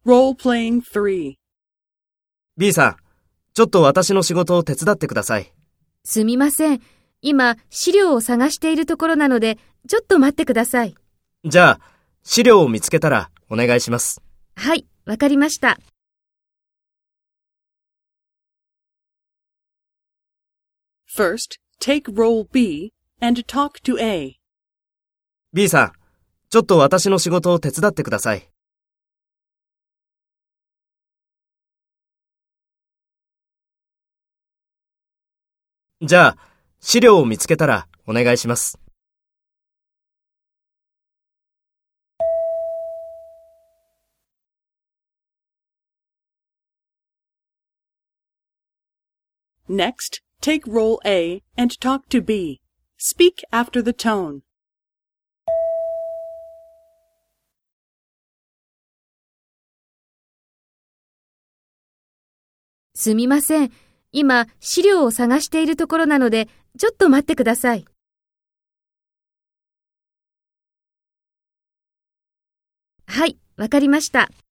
Role-playing 3. B さん、ちょっと私の仕事を手伝ってください。 すみません。今、資料を探しているところなので、ちょっと待ってください。 じゃあ、資料を見つけたらお願いします。 はい、わかりました。 First, take role B and talk to A. B さん、ちょっと私の仕事を手伝ってください。じゃあ、資料を見つけたらお願いします。 Next, take role A and talk to B. Speak after the tone. すみません。今、資料を探しているところなので、ちょっと待ってください。はい、わかりました。